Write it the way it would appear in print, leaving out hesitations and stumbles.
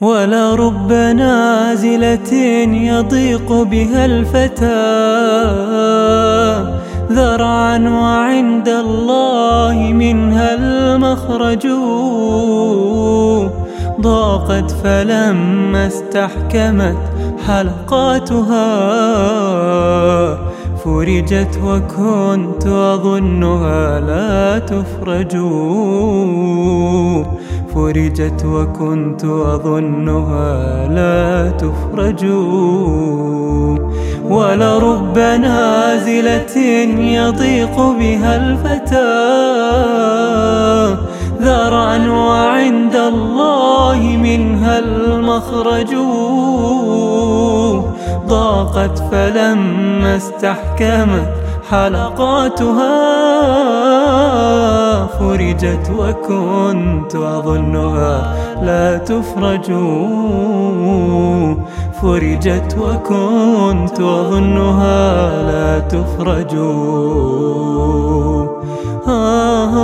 ولرب نازلة يضيق بها الفتى ذرعا وعند الله منها المخرج، ضاقت فلما استحكمت حلقاتها فرجت وكنت أظنها لا تفرج، فرجت وكنت أظنها لا تفرج. ولرب نازلة يضيق بها الفتى ذرعا وعند الله منها المخرج، ضاقت فلما استحكمت حلقاتها فرجت وكنت أظنها لا تفرج، فرجت وكنت أظنها لا تفرج.